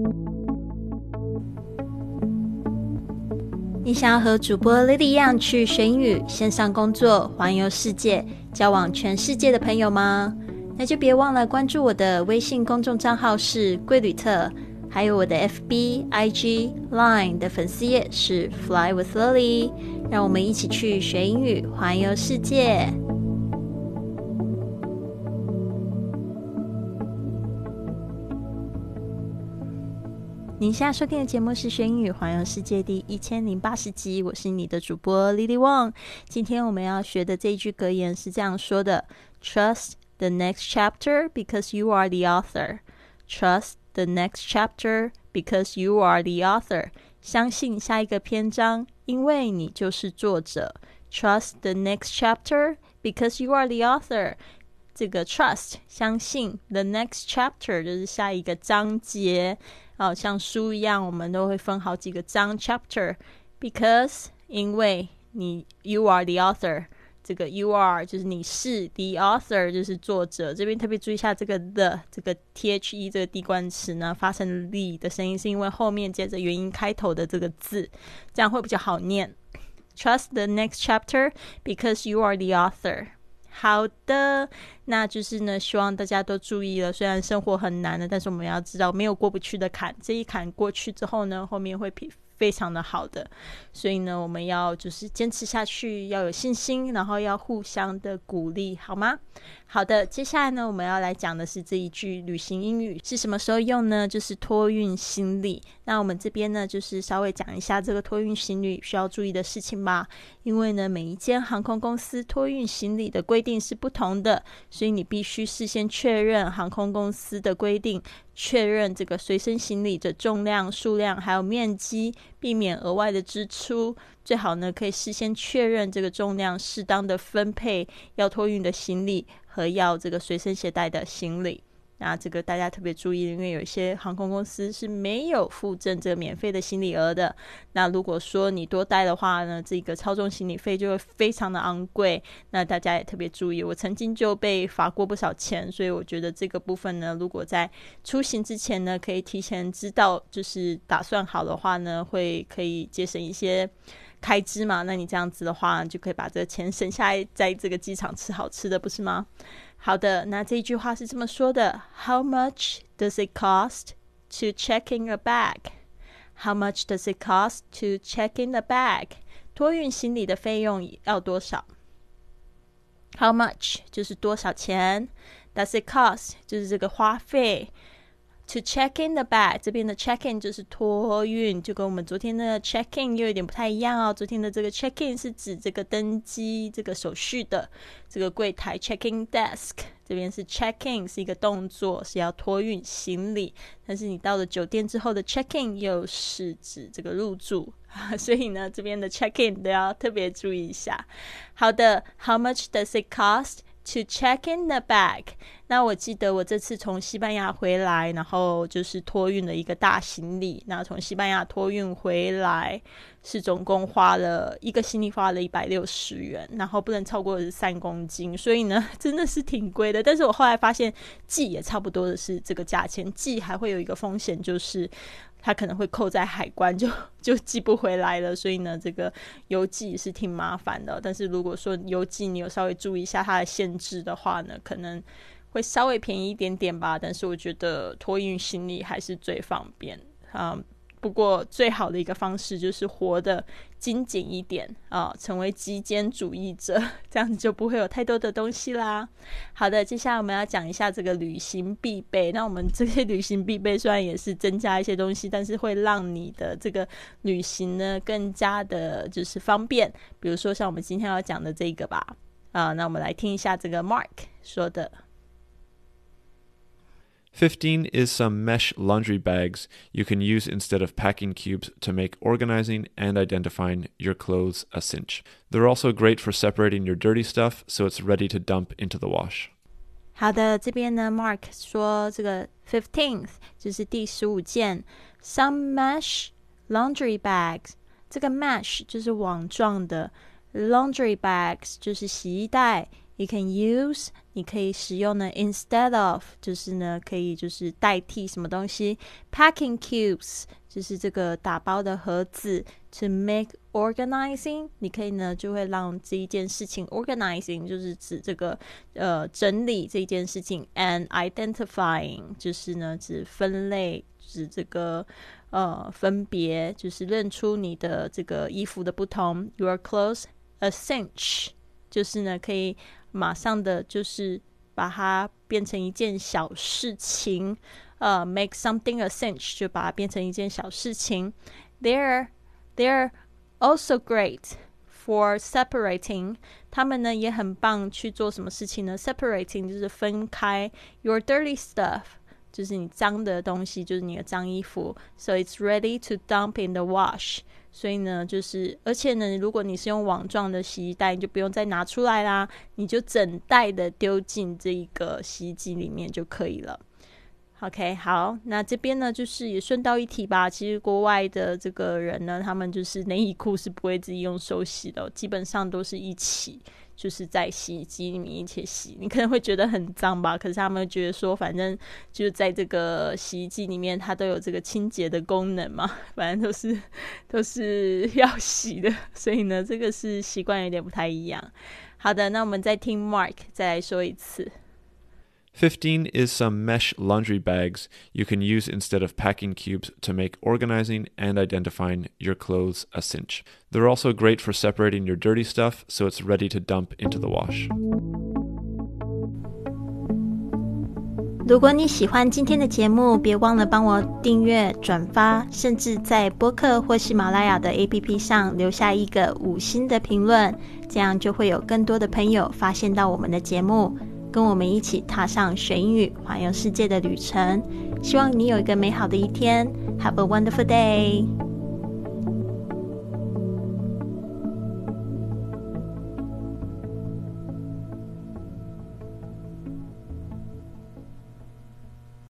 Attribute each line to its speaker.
Speaker 1: 你想要和主播 Lily 一样去学英语、线上工作、环游世界、交往全世界的朋友吗？那就别忘了关注我的微信公众账号是贵旅特，还有我的 FB、IG、Line 的粉丝页是 Fly with Lily， 让我们一起去学英语、环游世界。您现在收听的节目是学英语环游世界第1080集，我是你的主播 Lily Wong。 今天我们要学的这一句格言是这样说的： Trust the next chapter because you are the author. Trust the next chapter because you are the author. 相信下一个篇章，因为你就是作者。 Trust the next chapter because you are the author。这个 trust 相信， the next chapter 就是下一个章节，像书一样我们都会分好几个章 chapter。 because 因为你 you are the author， 这个 you are 就是你是， the author 就是作者。这边特别注意一下这个 the 这个 the 这个滴冠词呢发成 the 的声音，是因为后面接着元音开头的这个字，这样会比较好念。 Trust the next chapter because you are the author。好的，那就是呢，希望大家都注意了。虽然生活很难的，但是我们要知道没有过不去的坎，这一坎过去之后呢，后面会非常的好的。所以呢，我们要就是坚持下去，要有信心，然后要互相的鼓励，好吗？好的，接下来呢，我们要来讲的是这一句旅行英语是什么时候用呢？就是托运行李。那我们这边呢，就是稍微讲一下这个托运行李需要注意的事情吧。因为呢，每一间航空公司托运行李的规定是不同的，所以你必须事先确认航空公司的规定，确认这个随身行李的重量、数量还有面积，避免额外的支出。最好呢，可以事先确认这个重量，适当的分配要托运的行李和要这个随身携带的行李。那这个大家特别注意，因为有一些航空公司是没有附赠这个免费的行李额的。那如果说你多带的话呢，这个超重行李费就会非常的昂贵。那大家也特别注意，我曾经就被罚过不少钱，所以我觉得这个部分呢，如果在出行之前呢，可以提前知道，就是打算好的话呢，可以节省一些开支嘛。那你这样子的话，就可以把这个钱省下来，在这个机场吃好吃的，不是吗？好的，那这一句话是这么说的： How much does it cost to check in a bag? How much does it cost to check in a bag? 托运行李的费用要多少？ How much 就是多少钱， does it cost 就是这个花费。To check in the bag， 这边的 check in 就是托运，就跟我们昨天的 check in 又有点不太一样哦。昨天的这个 check in 是指这个登机这个手续的这个柜台 check in desk， 这边是 check in 是一个动作，是要托运行李。但是你到了酒店之后的 check in 又是指这个入住，所以呢这边的 check in 都要特别注意一下。好的， How much does it cost to check in the bag？ 那我记得我这次从西班牙回来，然后就是托运了一个大行李，那从西班牙托运回来是总共花了一个行李花了160元，然后不能超过3公斤，所以呢真的是挺贵的。但是我后来发现寄也差不多的是这个价钱，寄还会有一个风险，就是它可能会扣在海关，就寄不回来了。所以呢这个邮寄是挺麻烦的。但是如果说邮寄你有稍微注意一下它的限制的话呢，可能会稍微便宜一点点吧。但是我觉得托运行李还是最方便。不过最好的一个方式就是活得精简一点成为极简主义者，这样子就不会有太多的东西啦。好的，接下来我们要讲一下这个旅行必备。那我们这些旅行必备虽然也是增加一些东西，但是会让你的这个旅行呢更加的就是方便。比如说像我们今天要讲的这个吧那我们来听一下这个 Mark 说的。
Speaker 2: 15 is some mesh laundry bags you can use instead of packing cubes to make organizing and identifying your clothes a cinch. They're also great for separating your dirty stuff, so it's ready to dump into the wash.
Speaker 1: 好的，这边呢 Mark 说这个 15th 就是第15件 some mesh laundry bags， 这个 mesh 就是网状的， laundry bags 就是洗衣袋， You can use 你可以使用呢 instead of 就是呢可以就是代替什么东西 Packing cubes 就是这个打包的盒子 To make organizing 你可以呢就会让这一件事情 organizing 就是指这个整理这一件事情 And identifying 就是呢指分类指这个分别就是认出你的这个衣服的不同 Your clothes a cinch 就是呢可以马上的就是把它变成一件小事情make something a cinch 就把它变成一件小事情 They're also great for separating 他们呢也很棒去做什么事情呢 Separating 就是分开 Your dirty stuff就是你脏的东西就是你的脏衣服 So it's ready to dump in the wash 所以呢就是而且呢如果你是用网状的洗衣袋你就不用再拿出来啦你就整袋的丢进这一个洗衣机里面就可以了 OK 好那这边呢就是也顺道一提吧其实国外的这个人呢他们就是内衣裤是不会自己用手洗的基本上都是一起就是在洗衣机里面一起洗你可能会觉得很脏吧可是他们觉得说反正就在这个洗衣机里面它都有这个清洁的功能嘛反正都是要洗的所以呢这个是习惯有点不太一样好的那我们再听 Mark 再来说一次
Speaker 2: 15 is some mesh laundry bags you can use instead of packing cubes to make organizing and identifying your clothes a cinch. They're also great for separating your dirty stuff, so it's ready to dump into the wash.
Speaker 1: 如果你喜欢今天的节目别忘了帮我订阅转发甚至在播客或喜马拉雅的 APP 上留下一个5星的评论这样就会有更多的朋友发现到我们的节目跟我们一起踏上学英语环游世界的旅程希望你有一个美好的一天 Have a wonderful day